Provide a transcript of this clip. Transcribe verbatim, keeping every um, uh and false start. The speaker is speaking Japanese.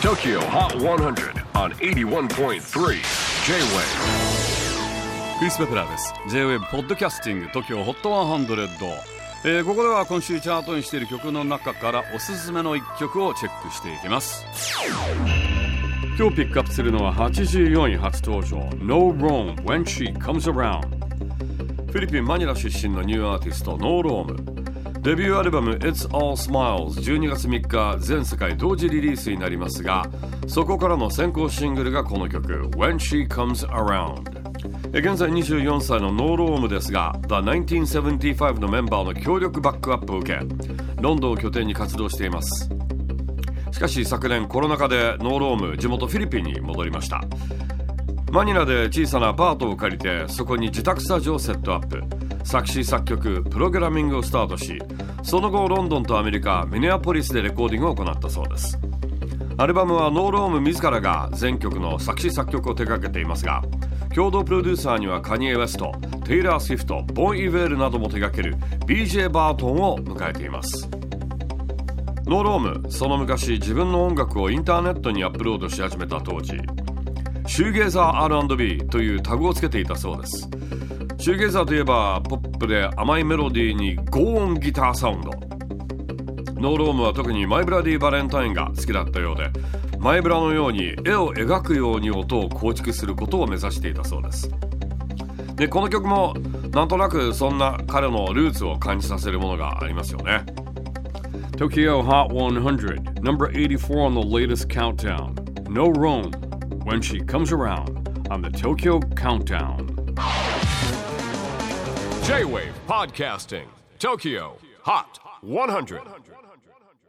Tokyo Hot one hundred on エイティワンポイントスリー J-Wave。 クリス・ペプラーです。 J-Wave ポッドキャスティング Tokyo Hot ワンハンドレッド、えー、ここでは今週チャートにしている曲の中からおすすめのいっきょくをチェックしていきます。今日ピックアップするのははちじゅうよんい初登場 No Rome When She Comes Around。 フィリピン・マニラ出身のニューアーティスト No Rome、デビューアルバム It's All Smiles じゅうにがつみっか全世界同時リリースになりますが、そこからの先行シングルがこの曲 When She Comes Around。 現在にじゅうよんさいのノーロームですが The ナインティーンセブンティーファイブ のメンバーの強力バックアップを受けロンドンを拠点に活動しています。しかし昨年コロナ禍でノーローム地元フィリピンに戻りました。マニラで小さなアパートを借りてそこに自宅スタジオをセットアップ、作詞作曲プログラミングをスタートし、その後ロンドンとアメリカミネアポリスでレコーディングを行ったそうです。アルバムはノーローム自らが全曲の作詞作曲を手掛けていますが、共同プロデューサーにはカニエ・ウェスト、テイラー・スウィフト、ボン・イヴェールなども手掛ける ビージェー バートンを迎えています。ノーローム、その昔自分の音楽をインターネットにアップロードし始めた当時、シューゲーザー アールアンドビー というタグをつけていたそうです。シューゲーザーといえばポップで甘いメロディーに高音ギターサウンド。ノーロームは特にマイブラディバレンタインが好きだったようで、マイブラのように絵を描くように音を構築することを目指していたそうです。で、この曲もなんとなくそんな彼のルーツを感じさせるものがありますよね。 Tokyo Hot one hundred Number eighty-four on the latest countdown, No Rome When She Comes Around on the Tokyo Countdown。 J-Wave Podcasting Tokyo Hot one hundred。